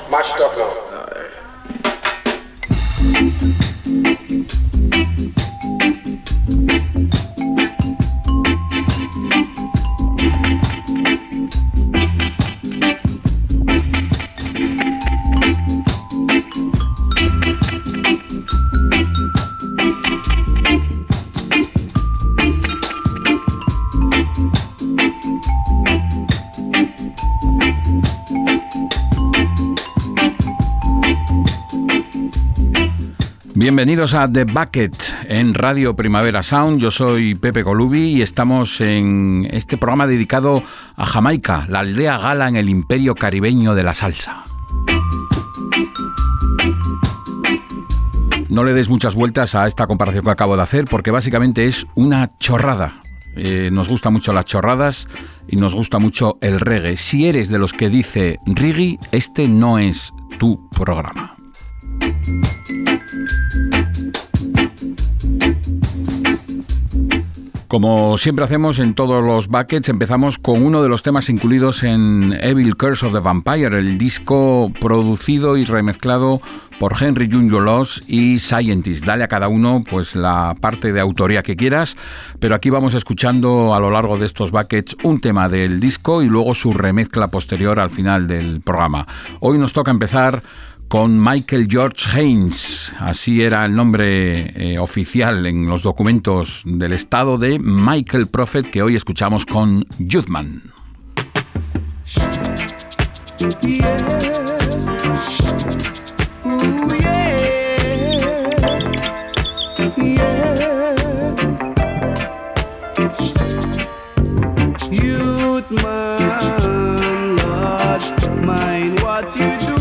Mashed up now. Bienvenidos a The Bucket en Radio Primavera Sound. Yo soy Pepe Colubi y estamos en este programa dedicado a Jamaica, la aldea gala en el imperio caribeño de la salsa. No le des muchas vueltas a esta comparación que acabo de hacer porque básicamente es una chorrada. Nos gustan mucho las chorradas y nos gusta mucho el reggae. Si eres de los que dice reggae, este no es tu programa. Como siempre hacemos en todos los buckets, empezamos con uno de los temas incluidos en Evil Curse of the Vampire, el disco producido y remezclado por Henry Junior Loss y Scientist. Dale a cada uno pues la parte de autoría que quieras, pero aquí vamos escuchando a lo largo de estos buckets un tema del disco y luego su remezcla posterior al final del programa. Hoy nos toca empezar con Michael George Haynes, así era el nombre oficial en los documentos del estado de Michael Prophet, que hoy escuchamos con Youthman. Youthman, Lord, mind what you do.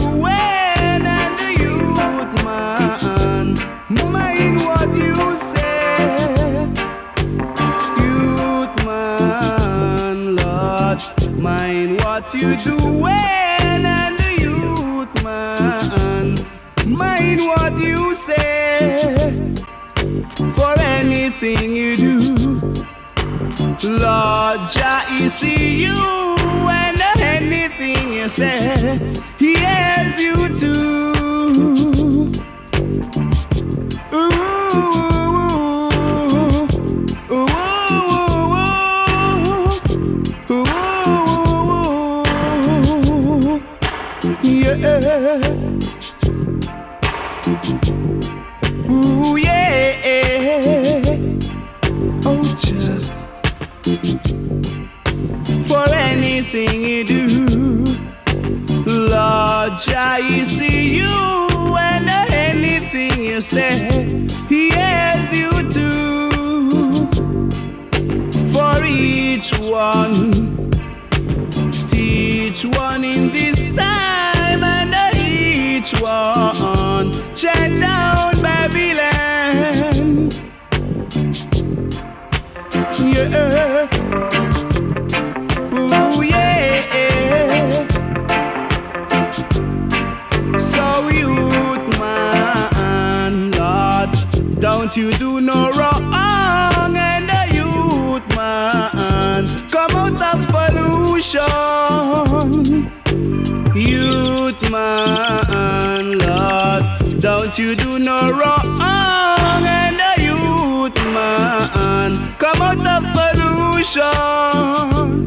Mind what you say, youth man, Lord. Mind what you doing, and the youth man, mind what you say. For anything you do, Lord Jah, He see you, and anything you say, He hears you too. Yeah. Ooh, yeah. Oh, just for anything you do, Lord Jah, He see you, and anything you say, He hears you too. For each one, teach one in this time, and each one check down Babylon. Yeah. Ooh, yeah. So youth man, Lord, don't you do no wrong, and the youth man come out of pollution. Youth man, Lord, don't you do no wrong, and the youth man come out of pollution.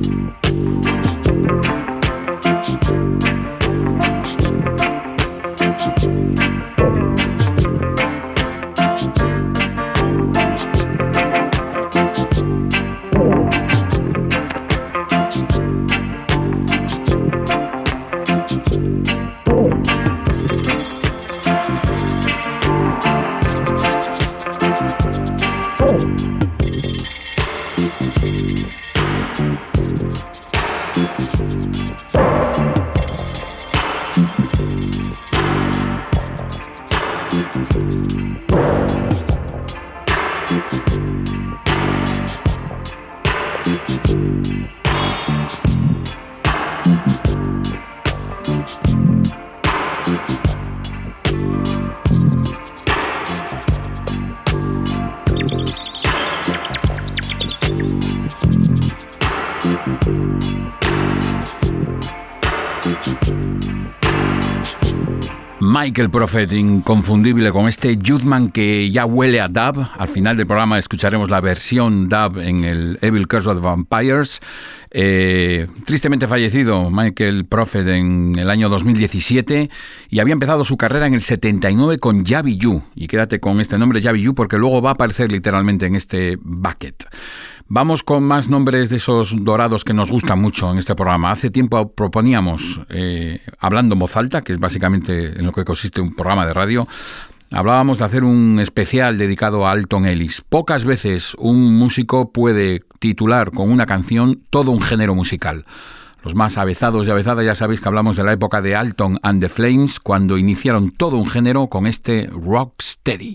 Michael Prophet, inconfundible con este Youthman que ya huele a dub. Al final del programa escucharemos la versión dub en el Evil Curse of the Vampires. Tristemente fallecido Michael Prophet en el año 2017 y había empezado su carrera en el 79 con Javi Yu. Y quédate con este nombre Javi Yu porque luego va a aparecer literalmente en este bucket. Vamos con más nombres de esos dorados que nos gustan mucho en este programa. Hace tiempo proponíamos, hablando en voz alta, que es básicamente en lo que consiste un programa de radio, hablábamos de hacer un especial dedicado a Alton Ellis. Pocas veces un músico puede titular con una canción todo un género musical. Los más avezados y avezadas ya sabéis que hablamos de la época de Alton and the Flames, cuando iniciaron todo un género con este Rocksteady.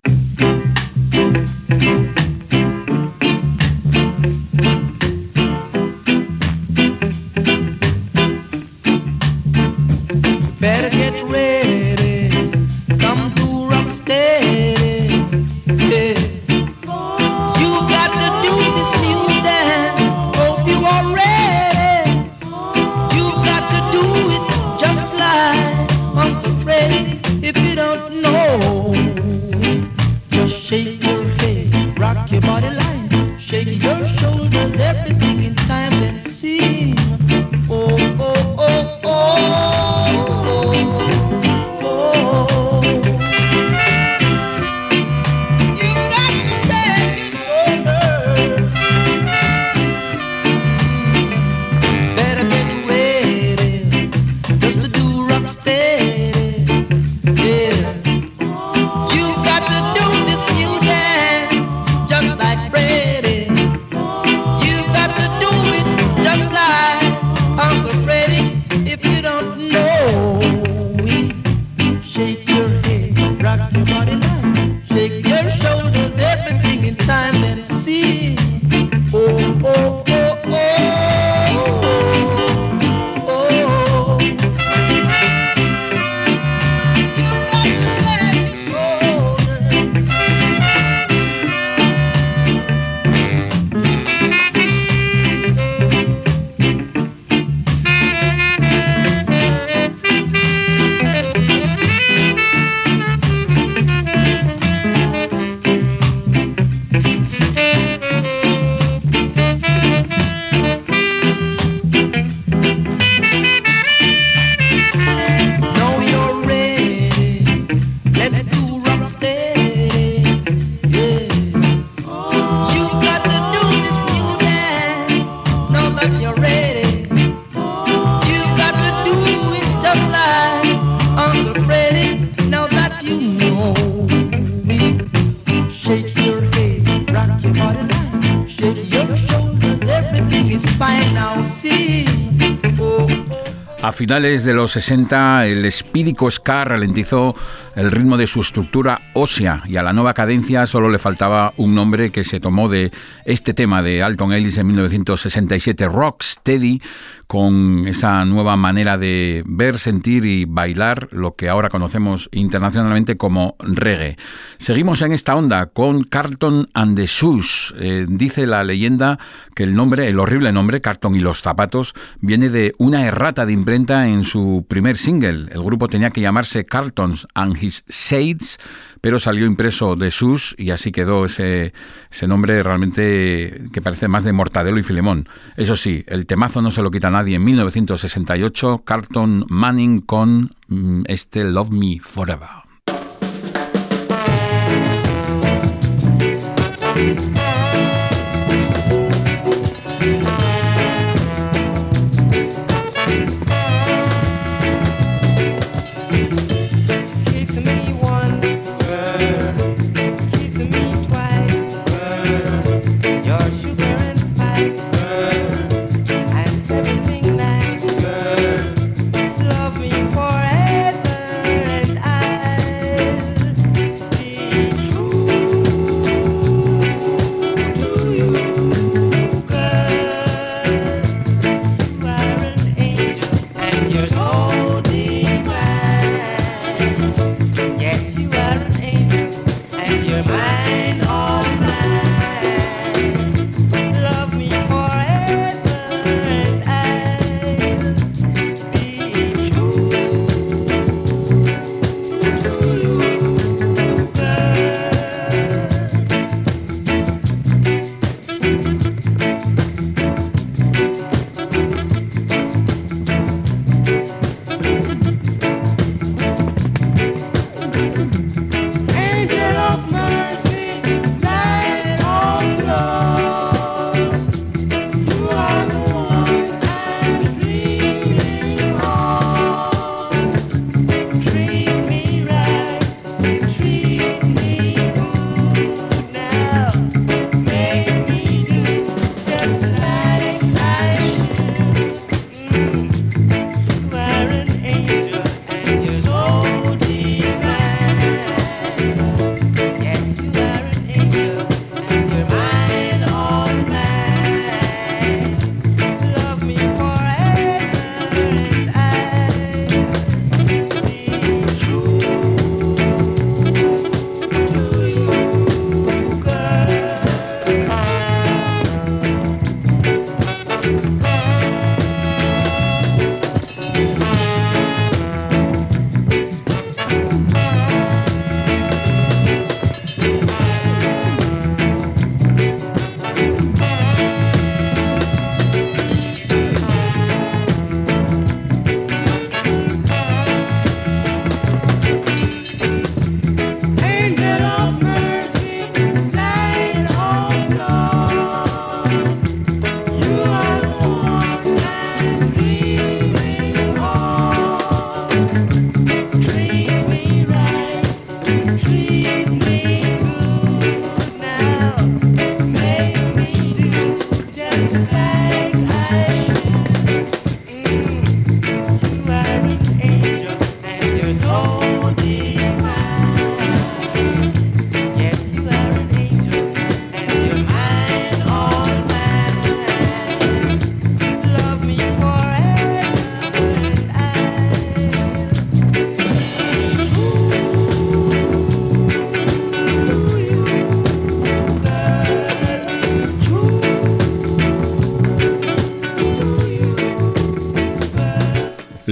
Better get ready, come to Rocksteady, yeah. You got to do this new dance, hope you are ready. You got to do it just like Uncle Freddie. If you don't know it, just shake your head, rock your body line, shake your shoulders, everything in time, then sing. Oh, oh, oh, oh. A finales de los 60, el espírico ska ralentizó el ritmo de su estructura ósea y a la nueva cadencia solo le faltaba un nombre que se tomó de este tema de Alton Ellis en 1967, Rocksteady, con esa nueva manera de ver, sentir y bailar lo que ahora conocemos internacionalmente como reggae. Seguimos en esta onda con Carlton and the Shoes. Dice la leyenda que el nombre, el horrible nombre, Carlton y los zapatos, viene de una errata de imprenta en su primer single. El grupo tenía que llamarse Carltons and His Shades, pero salió impreso de Shoes y así quedó ese nombre realmente que parece más de Mortadelo y Filemón. Eso sí, el temazo no se lo quita nadie. En 1968, Carlton Manning con este Love Me Forever.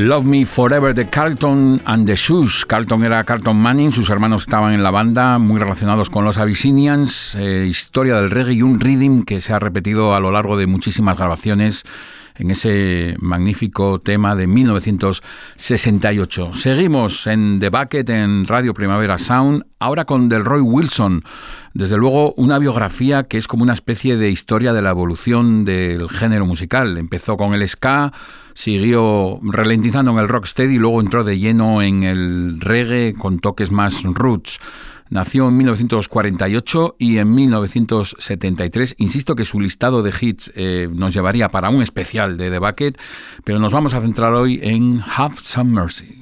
Love Me Forever de Carlton and the Shoes. Carlton era Carlton Manning, sus hermanos estaban en la banda, muy relacionados con los Abyssinians, historia del reggae y un rhythm que se ha repetido a lo largo de muchísimas grabaciones en ese magnífico tema de 1968. Seguimos en The Bucket en Radio Primavera Sound, ahora con Delroy Wilson. Desde luego una biografía que es como una especie de historia de la evolución del género musical. Empezó con el ska, siguió ralentizando en el rocksteady y luego entró de lleno en el reggae con toques más roots. Nació en 1948 y en 1973. Insisto que su listado de hits nos llevaría para un especial de The Bucket, pero nos vamos a centrar hoy en Have Some Mercy.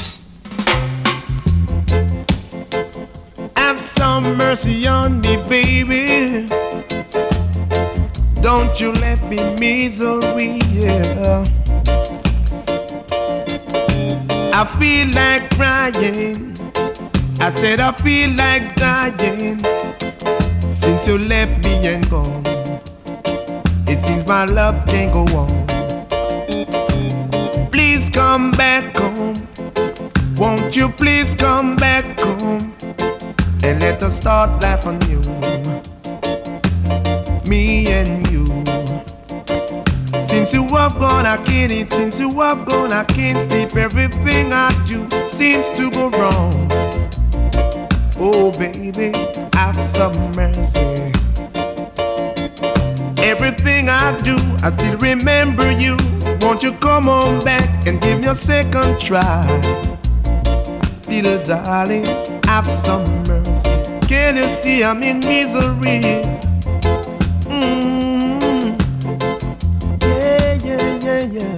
Have some mercy on me, baby. Don't you let me misery, yeah. I feel like crying. I said I feel like dying since you left me and gone. It seems my love can't go on. Please come back home. Won't you please come back home and let us start life anew, me and you. Since you have gone I can't eat, since you have gone I can't sleep. Everything I do seems to go wrong. Oh baby, have some mercy. Everything I do, I still remember you. Won't you come on back and give me a second try? Little darling, have some mercy. Can you see I'm in misery? Yeah, yeah, yeah, yeah.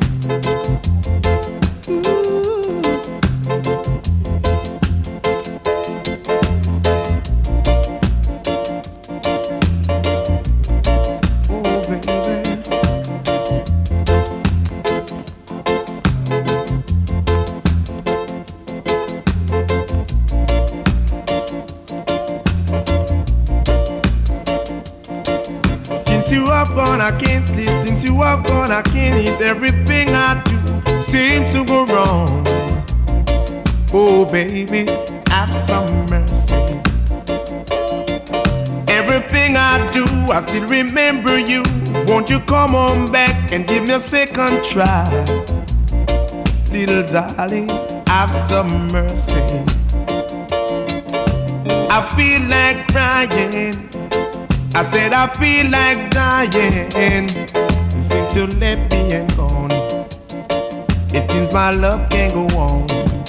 I can't sleep, since you are gone I can't eat. Everything I do seems to go wrong. Oh baby, have some mercy. Everything I do, I still remember you. Won't you come on back and give me a second try? Little darling, have some mercy. I feel like crying. I said I feel like dying since you left me and gone. It seems my love can't go on.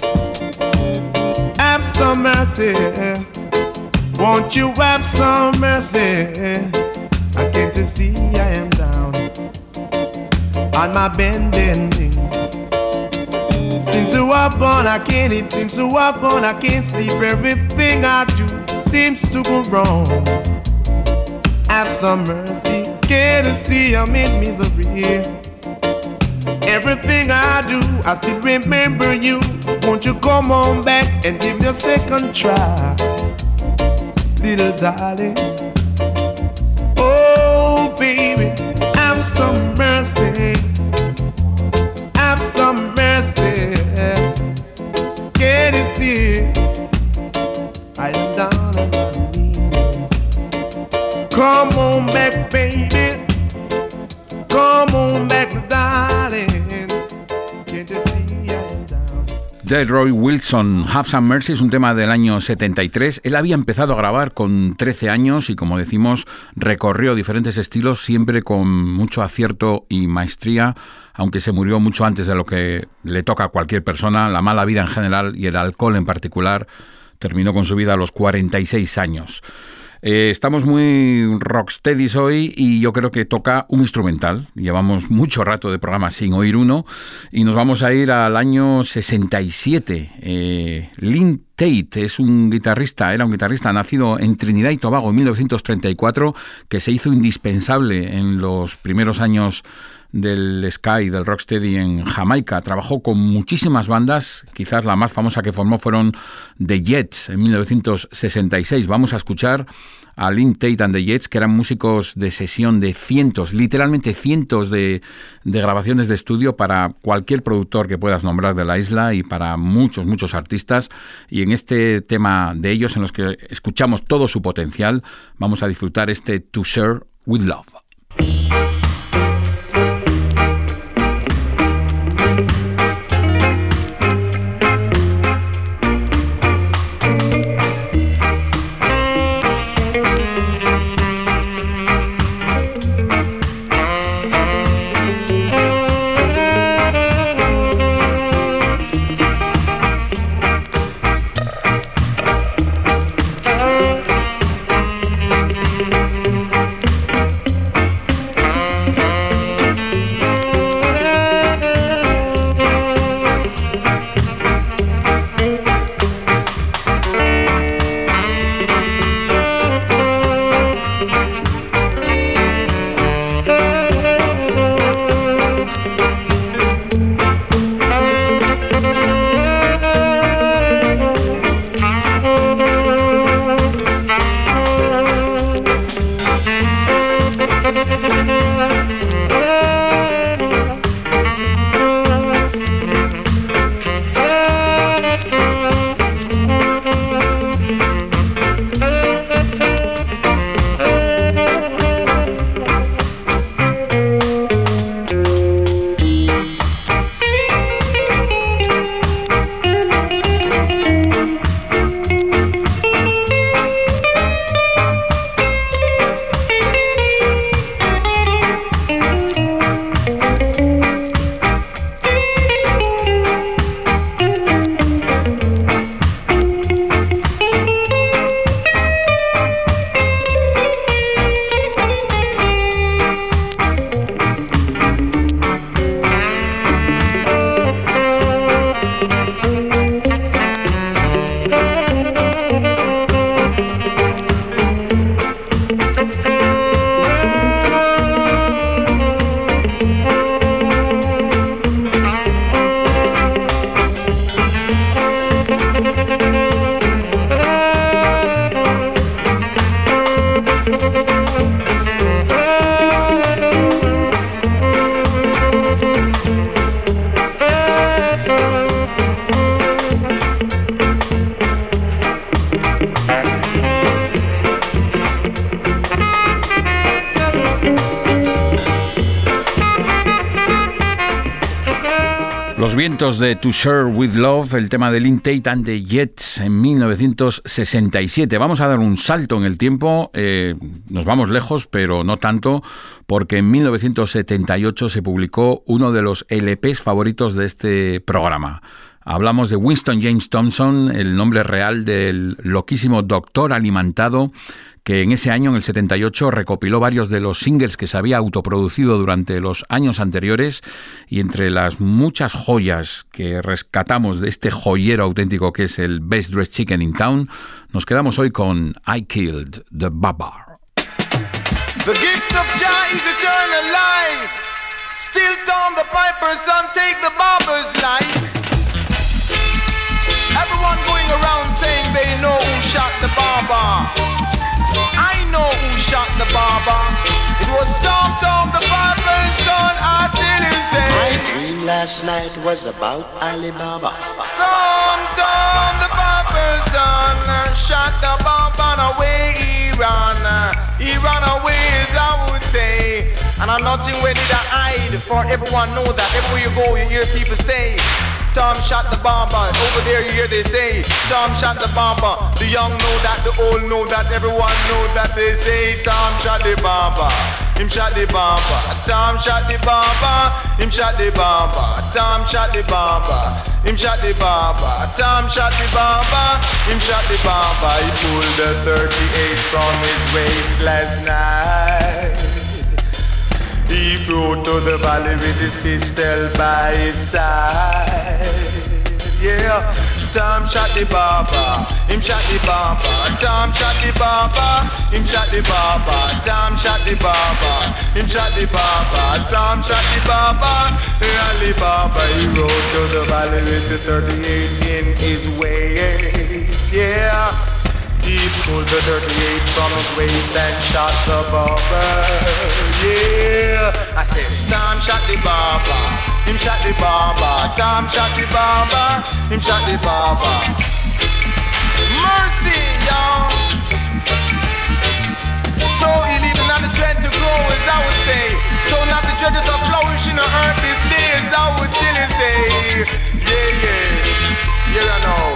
Have some mercy. Won't you have some mercy? I can't you see I am down on my bending knees. Since you are gone I can't eat, since you are gone I can't sleep. Everything I do seems to go wrong. Have some mercy, can't you see I'm in misery? Everything I do, I still remember you. Won't you come on back and give me a second try? Little darling, oh baby, have some mercy. Have some mercy. Can't you see I am down on my knees? Come on back, baby. Come on back, darling. Can't you see I'm down? Delroy Wilson, Have Some Mercy, es un tema del año 73. Él había empezado a grabar con 13 años y, como decimos, recorrió diferentes estilos, siempre con mucho acierto y maestría, aunque se murió mucho antes de lo que le toca a cualquier persona. La mala vida en general y el alcohol en particular terminó con su vida a los 46 años. Estamos muy rocksteadies hoy y yo creo que toca un instrumental. Llevamos mucho rato de programa sin oír uno y nos vamos a ir al año 67. Lynn Tate era un guitarrista nacido en Trinidad y Tobago en 1934, que se hizo indispensable en los primeros años del ska y del rocksteady en Jamaica. Trabajó con muchísimas bandas, quizás la más famosa que formó fueron The Jets en 1966. Vamos a escuchar a Lynn Tate and the Jets, que eran músicos de sesión de cientos, literalmente cientos de grabaciones de estudio para cualquier productor que puedas nombrar de la isla y para muchos artistas. Y en este tema de ellos, en los que escuchamos todo su potencial, vamos a disfrutar este To Share With Love. Los vientos de To Share With Love, el tema de Lynn Tate and the Jets en 1967. Vamos a dar un salto en el tiempo, nos vamos lejos, pero no tanto, porque en 1978 se publicó uno de los LPs favoritos de este programa. Hablamos de Winston James Thompson, el nombre real del loquísimo doctor alimentado, que en ese año, en el 78, recopiló varios de los singles que se había autoproducido durante los años anteriores, y entre las muchas joyas que rescatamos de este joyero auténtico que es el Best Dressed Chicken in Town, nos quedamos hoy con I Killed the Babar. The gift of Jah is eternal life. Still Tom the piper's son take the barber's life. Everyone going around saying they know who shot the barber. I know who shot the barber. It was Tom the barber's son. I didn't say. My dream last night was about Alibaba. Tom the barber's son shot the barber away. He ran away, as I would say. And I'm nothing ready to hide, for everyone know that everywhere you go, you hear people say, Tom shot the bomber. Over there you hear they say, Tom shot the bomber. The young know that, the old know that, everyone know that they say, Tom shot the bomber. Him shot the bomber. Tom shot the bomber. Him shot the bomber. Tom shot the bomber. Him shot the bomber. Tom shot the bomber. Him shot the bomber. He pulled the 38 from his waist last night. He rode to the valley with his pistol by his side. Yeah, Tom shot the barber, him shot the barber. Tom shot the barber, him shot the barber. Tom shot the barber, him shot the barber. Tom shot the barber, Ali Baba he rode to the valley with the 38 in his waist, yeah. He pulled the 38 from his waist and shot the barber, yeah. I said, Tom shot the barber, him shot the barber. Tom shot the barber, him shot the barber. Mercy, y'all. So illegal not the dread to grow, as I would say. So not the dreaders are flourishing on earth these days, I would really say. Yeah, yeah, I know.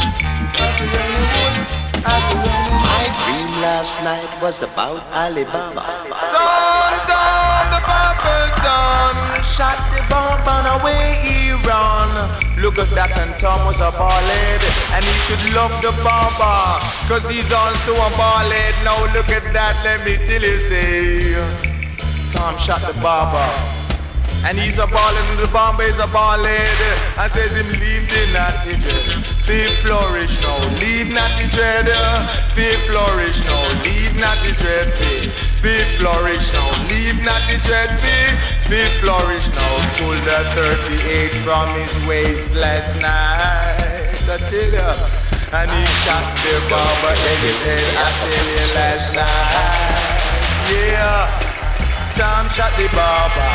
My dream last night was about Alibaba. Tom, the barber's son, shot the bomb and away he run. Look at that, and Tom was a ballhead, and he should love the barber, cause he's also a ballhead. Now look at that, let me tell you, say, Tom shot the barber, and he's a ballhead, and the barber is a ballhead, and says him leave the natty dread, feel flourish now, leave natty dread, feel flourish now, leave natty dread, feel flourish now, leave natty dread, feel flourish now. Pulled that 38 from his waist last night, I tell ya, and he shot the barber in his head, I tell you last night, yeah. Tom shot the barber.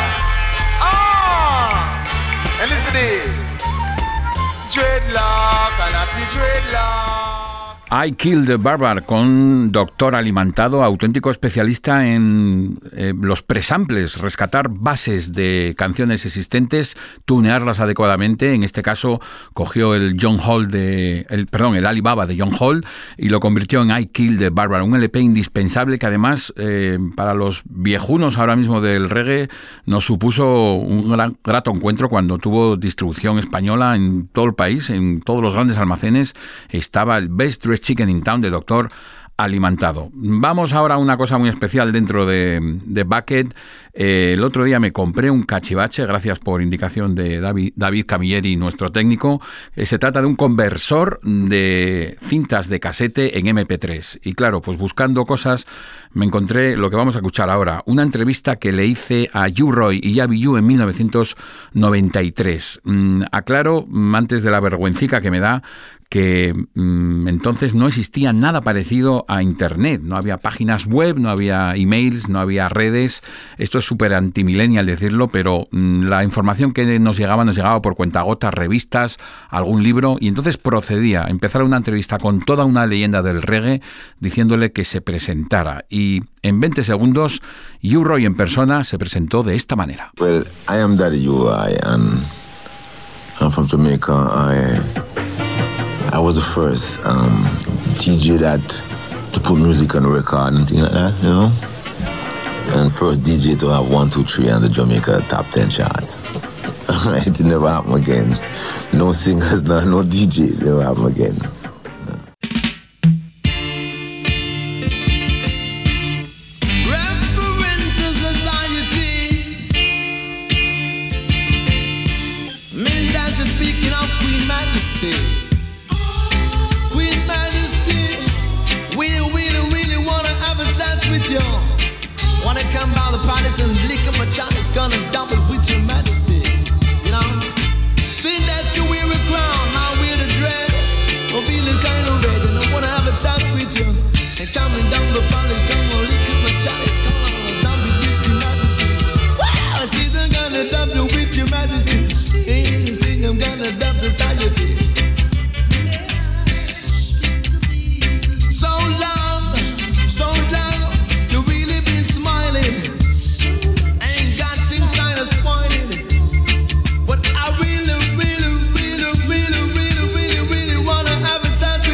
And listen to this. Dreadlock, and anti-dreadlock. I Killed the Barber con Doctor Alimentado, auténtico especialista en los presamples, rescatar bases de canciones existentes, tunearlas adecuadamente. En este caso cogió el el Alibaba de John Hall y lo convirtió en I Killed the Barber, un LP indispensable que además para los viejunos ahora mismo del reggae nos supuso un grato encuentro cuando tuvo distribución española en todo el país, en todos los grandes almacenes. Estaba el Best Dressed Chicken in Town de Doctor Alimentado. Vamos ahora a una cosa muy especial dentro de Bucket. El otro día me compré un cachivache, gracias por indicación de David Camilleri, nuestro técnico. Se trata de un conversor de cintas de casete en MP3. Y claro, pues buscando cosas me encontré lo que vamos a escuchar ahora. Una entrevista que le hice a U-Roy y Yabi U en 1993. Aclaro, antes de la vergüencica que me da, que entonces no existía nada parecido a Internet. No había páginas web, no había emails, no había redes. Esto es súper antimillennial decirlo, pero la información que nos llegaba por cuentagotas, revistas, algún libro, y entonces procedía a empezar una entrevista con toda una leyenda del reggae diciéndole que se presentara. Y en 20 segundos, U-Roy en persona se presentó de esta manera. Well, I am Daddy U-Roy and I'm from Jamaica. I was the first DJ to put music on the record and things like that, you know? And first DJ to have 1, 2, 3 on the Jamaica top 10 charts. It never happened again. No singers, no DJ, it never happened again. And lick up my chalice, gonna double with your majesty. You know, see that you wear a crown, now wear the dread. I'm feeling kind of red, and I wanna have a talk with you. And coming down the palace, gonna lick up my chalice, gonna double with your majesty. Wow, see them gonna double with your majesty. Ain't you see them gonna double society. So long, you really been smiling. But I really wanna have a time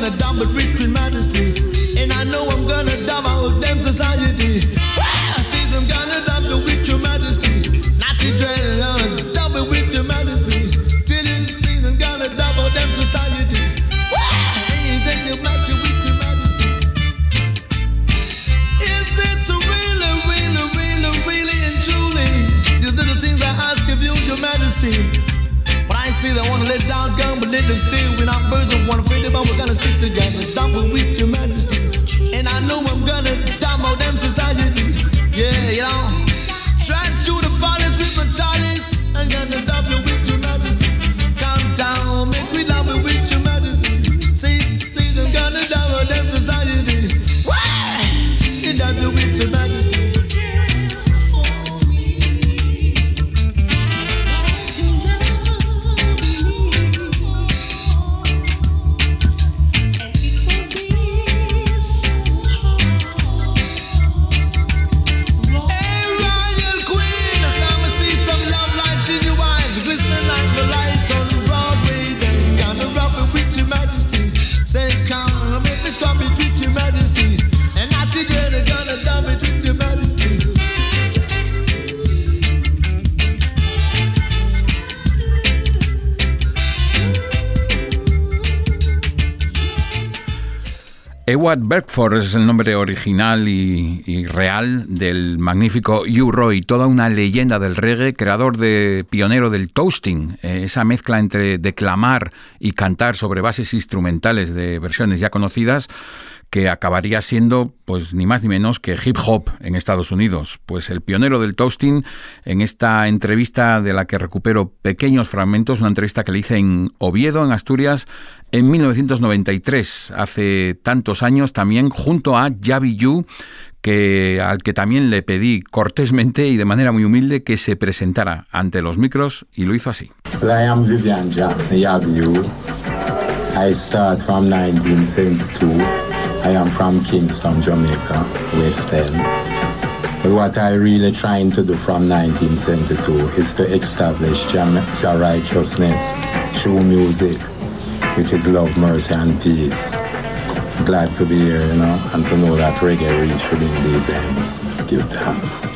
gonna dump it with your majesty. And I know I'm gonna dump out them society. I see them gonna dump it with your majesty. Not to dread, I'm gonna dump it with your majesty. Till this thing I'm gonna dump out them society. Anything that match you with your majesty. Is it really, really, really, really and truly? These little things I ask of you, your majesty. But I see they wanna let down gun, but let them stay. We're not birds of one afraid about, we're gonna stick together. Dump it with your majesty. And I know I'm gonna dump out them society. Yeah, you know. Try to the police with my chalice. I'm gonna dump it with your majesty. Calm down, make we dump it with your majesty. See, I'm gonna dump out them society. Why? You dump it with your majesty. Ewart Bedford es el nombre original y real del magnífico Hugh Roy, toda una leyenda del reggae, pionero del toasting, esa mezcla entre declamar y cantar sobre bases instrumentales de versiones ya conocidas, que acabaría siendo pues ni más ni menos que hip hop en Estados Unidos. Pues el pionero del toasting, en esta entrevista de la que recupero pequeños fragmentos, una entrevista que le hice en Oviedo, en Asturias, en 1993, hace tantos años, también junto a Javi Yu, al que también le pedí cortésmente y de manera muy humilde que se presentara ante los micros, y lo hizo así. Well, I am Vivian Jackson, Javi Yu. I start from 1972. I am from Kingston, Jamaica, West End. But what I really trying to do from 1972 is to establish Jah righteousness through music, which is love, mercy, and peace. Glad to be here, and to know that reggae reached within these ends. Give thanks.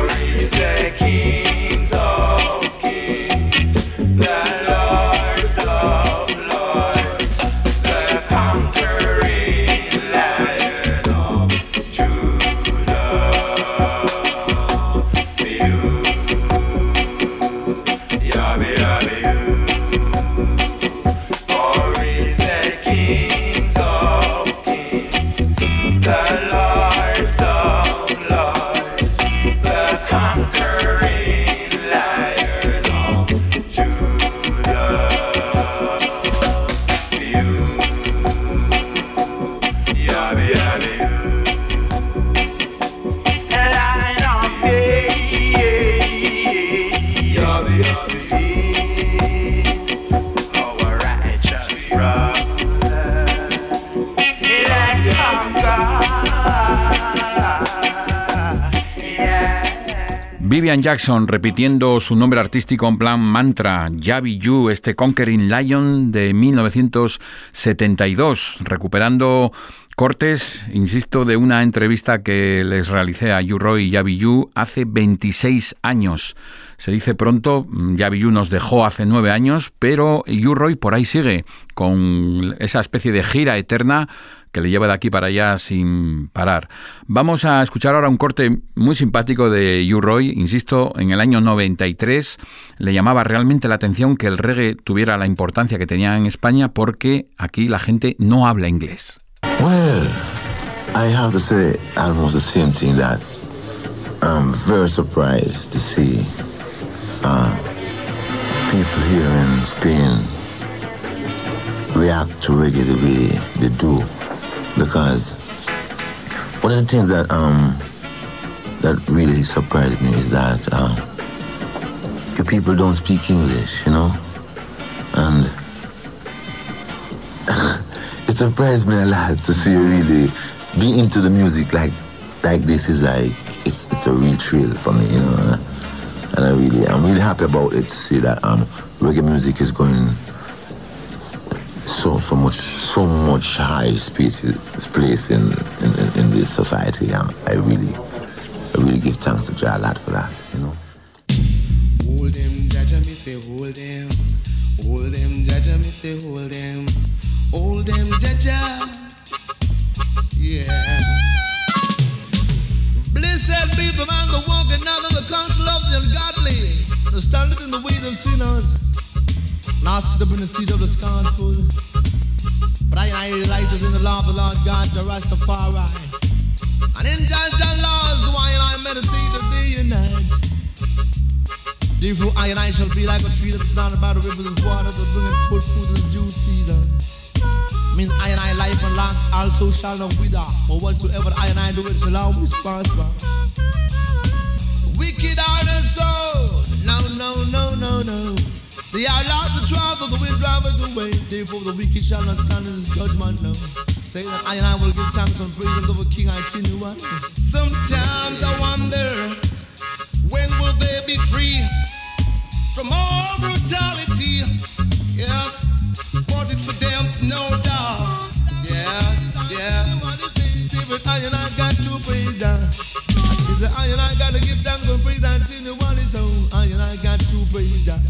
Kings of kings, the Lords of Vivian Jackson repitiendo su nombre artístico en plan mantra, Javi Yu, este Conquering Lion de 1972, recuperando cortes, insisto, de una entrevista que les realicé a U-Roy y Javi Yu hace 26 años. Se dice pronto, Javi Yu nos dejó hace 9 años, pero U-Roy por ahí sigue, con esa especie de gira eterna que le lleva de aquí para allá sin parar. Vamos a escuchar ahora un corte muy simpático de U-Roy. Insisto, en el año 93 le llamaba realmente la atención que el reggae tuviera la importancia que tenía en España, porque aquí la gente no habla inglés. Well, I have to say almost the same thing, that I'm very surprised to see people here in Spain react to reggae the way they do. Because one of the things that really surprised me is that you people don't speak English, you know, and it surprised me a lot to see you really be into the music like this. Is like it's a real thrill for me, you know, and I'm really happy about it to see that reggae music is going so much high place in this society. I really give thanks to Jah Lad for that, you know. Hold them, Jaja, me say hold them. Hold them, Jaja, me say hold them. Hold them, Jaja. Yeah. Blessed be the man that walking out of the counsel of the ungodly, that standeth in the ways of sinners, not sit up in the seat of the scornful. But I delight in the law of the Lord God, the Rastafari. And in Jah laws do I meditate day and night. Therefore I shall be like a tree that is surrounded by the rivers of water, that bringeth forth fruit in the due season. Means I life and locks also shall not wither, for whatsoever I do it shall always prosper. Wicked heart and soul, no. They are lost the trouble, the wind driveth away. Therefore the wicked shall not stand in his judgment, no. Say that I will give thanks and praises of a king I continue. Sometimes I wonder, when will they be free from all brutality? Yes, but it's for them, no doubt. Yeah. But I got to praise that. I got to give thanks and praise that continually. So I got to praise that.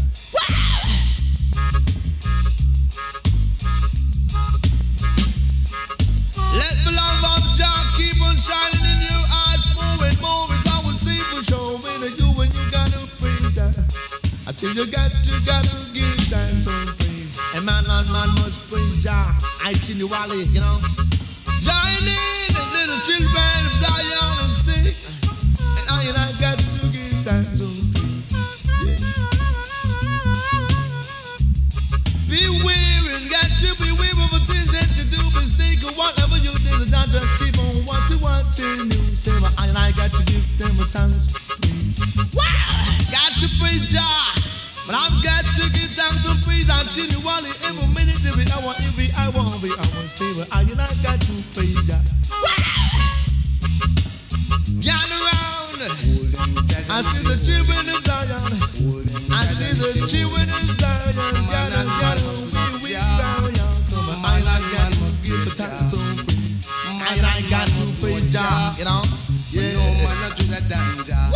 Let the love of Jah keep on shining in your eyes. More and more is I will see for sure. When you gotta praise that. I say you got to give thanks and praise. And man must praise Jah. I continually, you know. Join in the little children of Zion and sing. And I got to give thanks and praise. Yeah. Beware and got to beware of the things that you do. Mistake or whatever you do, not just keep on what you want to do. Say, well, I got to give them a thanks. Got to praise Jah, but I've got to give thanks and praise continually every minute, every hour, every hour. Say, well, I got to praise Jah. Gather around, I see the children of Zion. I see the children of Zion. Gather, we Zion. Come on, I got to give the thanks and praise. I got to praise Jah, you know. Yeah, no man, not do that damn Jah.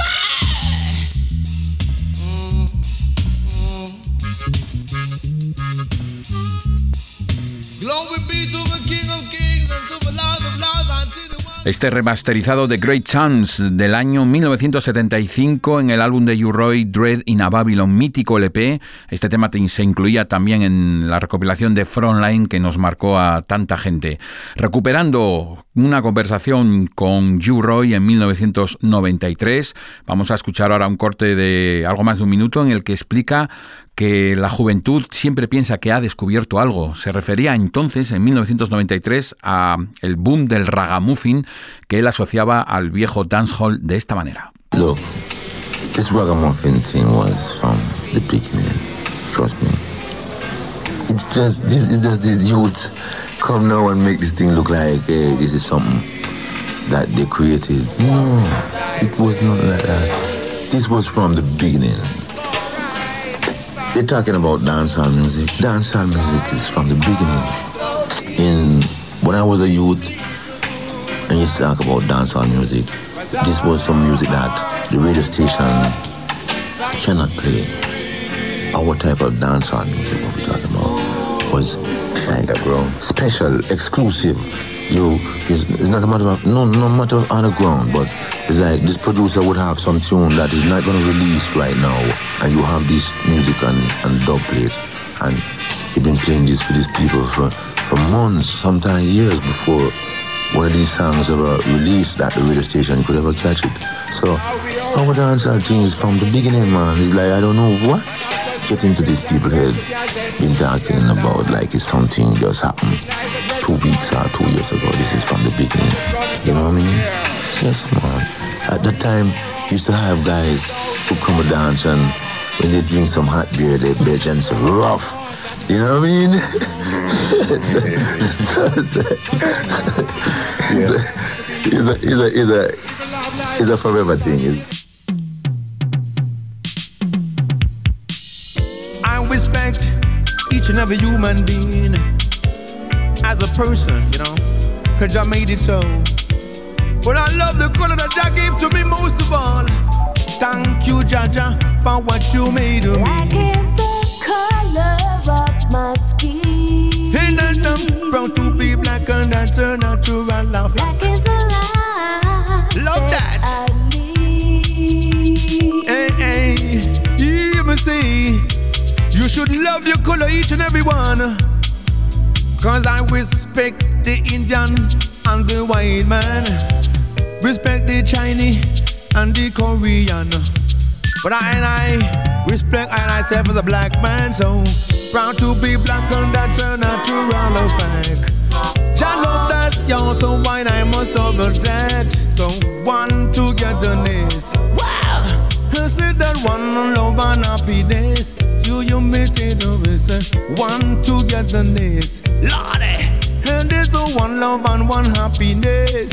Glory be to the King of Kings and to the Lord of Lords until the Este remasterizado de Great Chance del año 1975 en el álbum de U-Roy, Dread in a Babylon, mítico LP. Este tema se incluía también en la recopilación de Frontline que nos marcó a tanta gente. Recuperando una conversación con U-Roy en 1993, vamos a escuchar ahora un corte de algo más de un minuto en el que explica que la juventud siempre piensa que ha descubierto algo. Se refería entonces, en 1993, a el boom del ragamuffin que él asociaba al viejo dancehall de esta manera. Look, this ragamuffin thing was from the beginning. Trust me. It's just these youths come now and make this thing look like, hey, this is something that they created. No, it was not like that. this was from the beginning. They're talking about dancehall music. Dancehall music is from the beginning. When I was a youth, I used to talk about dancehall music. This was some music that the radio station cannot play. Our type of dancehall music, what we're talking about, was like special, exclusive. It's not a matter of no matter of underground, but it's like this producer would have some tune that is not going to release right now, and you have this music and dub plate, and you've been playing this for these people for months, sometimes years before one of these songs ever released at the radio station could ever catch it. So our dancehall thing is from the beginning, man. It's like I don't know what get into these people's head been talking about like it's something just happened 2 weeks or 2 years ago. This is from the beginning. You know what I mean? Yes, man. At that time, used to have guys who come and dance, and when they drink some hot beer, they bitch and so rough. You know what I mean? It's a forever thing. I respect each and every human being as a person, you know, 'cause I made it so. But I love the color that Jah gave to me most of all. Thank you, Jah, for what you made of me. Black is the color of my skin. Hey, that I'm proud to be black, and that's a natural love. Black is a life. Love that. Hey, hear me say, you should love your color, each and every one. 'Cause I respect the Indian and the white man, respect the Chinese and the Korean, but I respect myself as a black man. So proud to be black, and that's a natural fact. I love that, yo, so why I must love that. So one togetherness. Wow, I said that one love and happiness. You made it over, one togetherness. Lordy, and there's a one love and one happiness.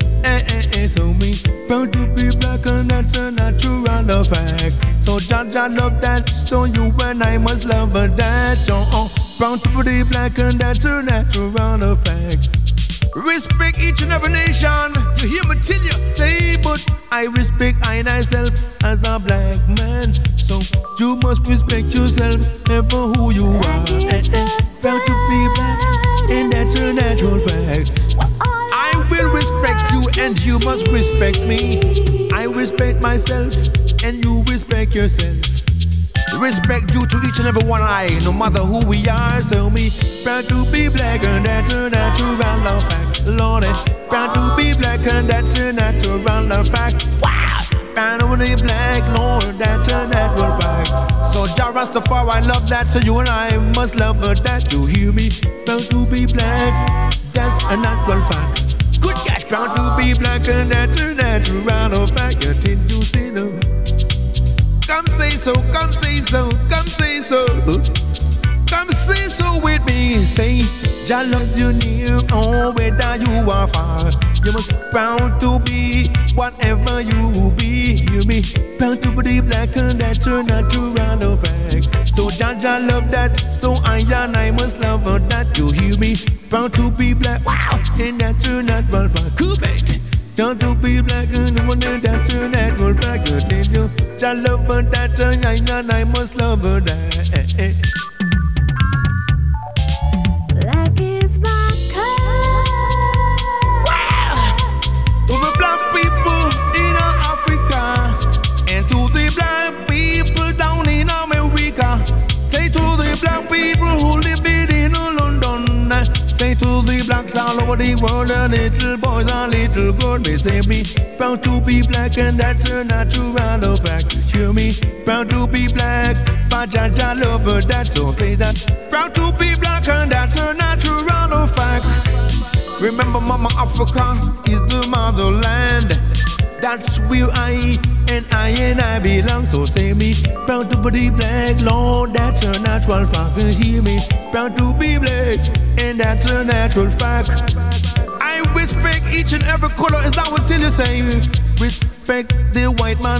So me proud to be black, and that's a natural fact. So Jah love that, so you and I must love that. Oh, proud to be black, and that's a natural fact. Respect each and every nation. You hear me tell you, say, but I respect I myself as a black man. So you must respect yourself for who you are. Proud to be black, and that's a natural fact. I will respect you, and you must respect me. I respect myself, and you respect yourself. Respect due to each and every one I, no matter who we are. So me proud to be black, and that's a natural fact. Lord, proud to be black, and that's a natural fact. Wow, proud to be black, Lord, that's a natural fact. So Jah Rastafari, I love that. So you and I must love that. You hear me? Proud to be black, that's a natural fact. Good gosh, proud to be black, and that's a natural fact. You think you see no? Come say so, come say so, come say so. Come say so with me. Say, Jah loves you near, oh, whether you are far. You must proud to be whatever you be. Hear me? Proud to be black, and that's a natural fact. So Jah love that, so I must love that. You hear me? Proud to be black, wow, and that's a natural fact. Cool, baby. Proud to be black, and that's a natural fact. You Jah love that, and I must love that. Black is my color. Wow! To the black people in Africa, and to the black people down in America. Say to the black people who live in London. Say to the blacks all over the world, the little boys and little girls. They say me proud to be black, and that's a natural fact. Hear me? Proud to be black, for Jah love that. So say that. Proud to be black, and that's a natural fact. Remember, Mama Africa is the motherland. That's where I belong. So say me, proud to be black, Lord, that's a natural fact. Hear me, proud to be black, and that's a natural fact. I respect each and every color, as I will tell you, say, respect the white man,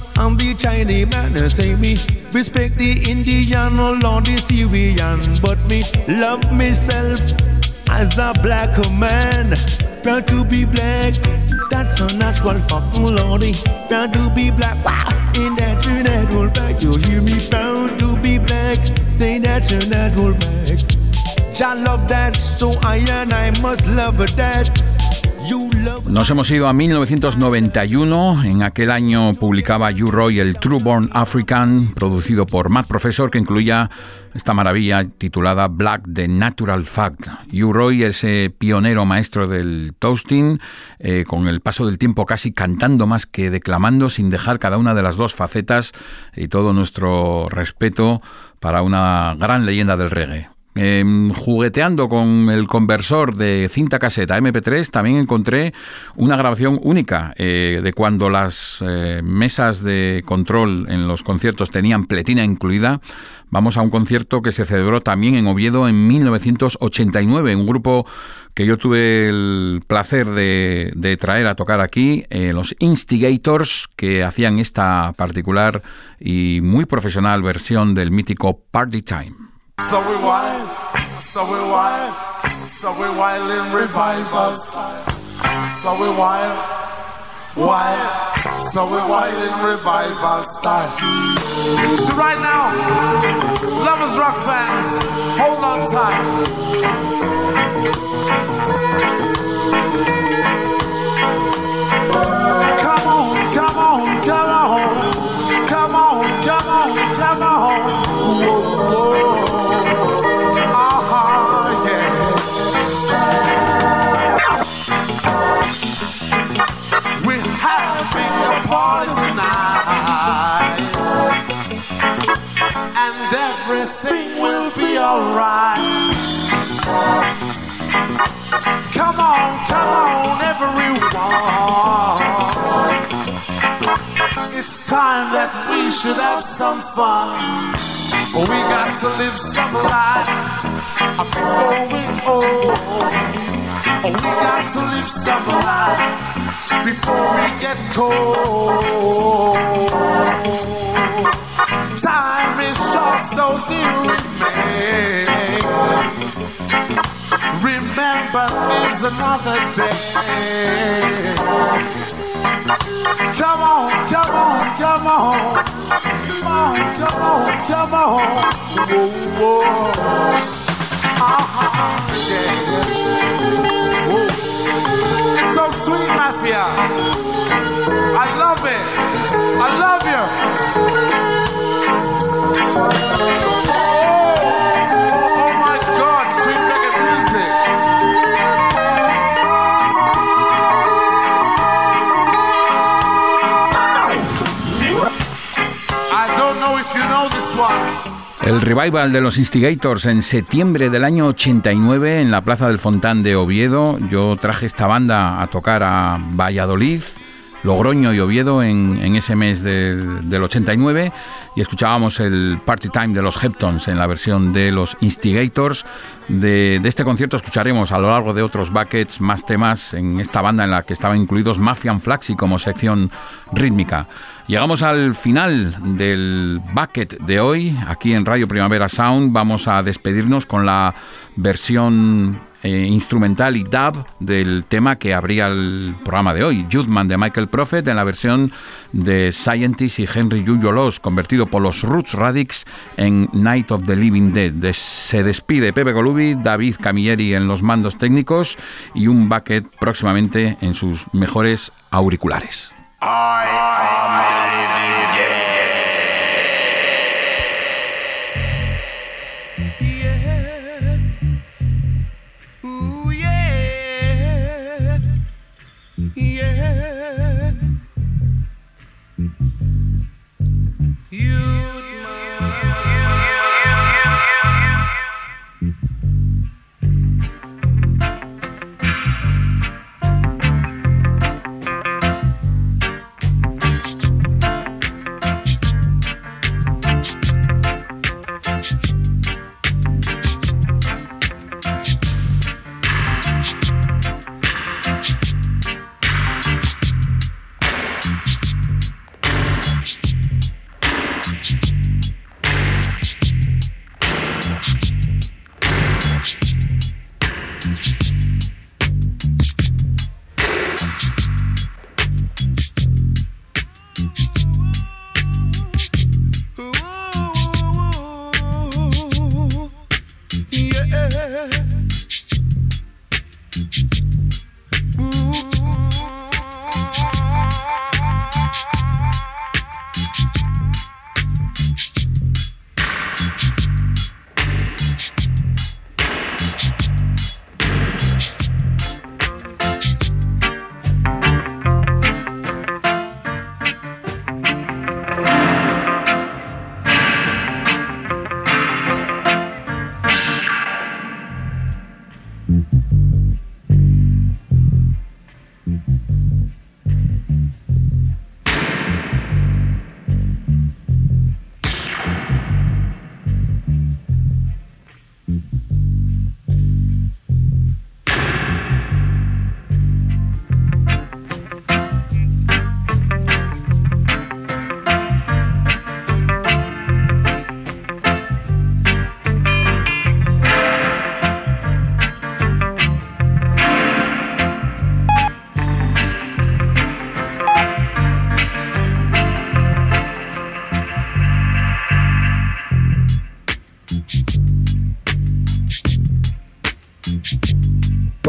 and the Chinese man say me respect the Indian or the Syrian, but me love myself as a black man. Proud to be black, that's a natural fucking lordy. Proud to be black, wow, in that your natural black. You hear me? Proud to be black, say that's your natural black. I love that, so I must love that. Nos hemos ido a 1991. En aquel año publicaba U-Roy el True Born African, producido por Matt Professor, que incluía esta maravilla titulada Black the Natural Fact. U-Roy, ese pionero maestro del toasting, con el paso del tiempo casi cantando más que declamando, sin dejar cada una de las dos facetas, y todo nuestro respeto para una gran leyenda del reggae. Jugueteando con el conversor de cinta caseta MP3 también encontré una grabación única de cuando las mesas de control en los conciertos tenían pletina incluida. Vamos a un concierto que se celebró también en Oviedo en 1989, un grupo que yo tuve el placer de traer a tocar aquí, los Instigators, que hacían esta particular y muy profesional versión del mítico Party Time. So we wild and revive us. So we wild, so we wild and revive us. So right now, Lovers Rock fans, hold on tight. Come on, come on, come on, come on, come on, come on. Whoa, whoa. Party tonight, and everything will be alright. Come on, everyone. It's time that we should have some fun. We got to live some life before we old. We got to live some life before we get cold. Time is short, so dear remain. Remember, there's another day. Come on, come on, come on. Come on, come on, come on. Whoa, whoa. Yeah. Whoa. It's so sweet, Mafia. I love it. I love you. Oh my God, sweet reggae music. I don't know if you know this one. El revival de los Instigators en septiembre del año 89 en la Plaza del Fontán de Oviedo. Yo traje esta banda a tocar a Valladolid, Logroño y Oviedo en ese mes del 89, y escuchábamos el Party Time de los Heptones en la versión de los Instigators. De este concierto escucharemos a lo largo de otros buckets más temas en esta banda en la que estaban incluidos Mafian Flaxi como sección rítmica. Llegamos al final del bucket de hoy, aquí en Radio Primavera Sound. Vamos a despedirnos con la versión instrumental y dub del tema que abría el programa de hoy, Judman de Michael Prophet, en la versión de Scientist y Henry Junjolos, convertido por los Roots Radics en Night of the Living Dead. Se despide Pepe Colubi, David Camilleri en los mandos técnicos y un bucket próximamente en sus mejores auriculares. I am the living dead.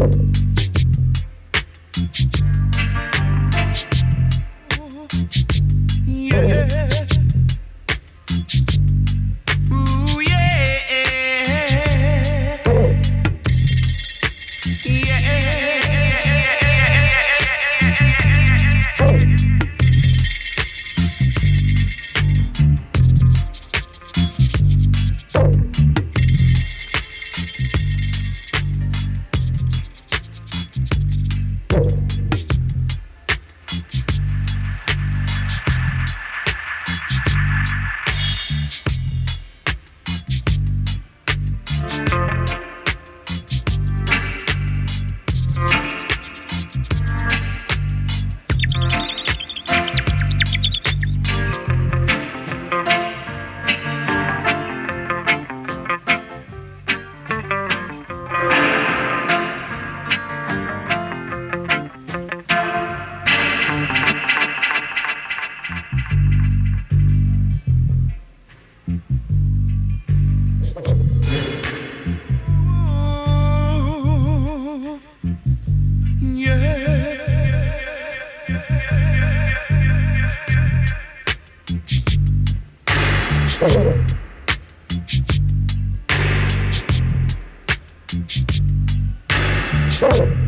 Oh.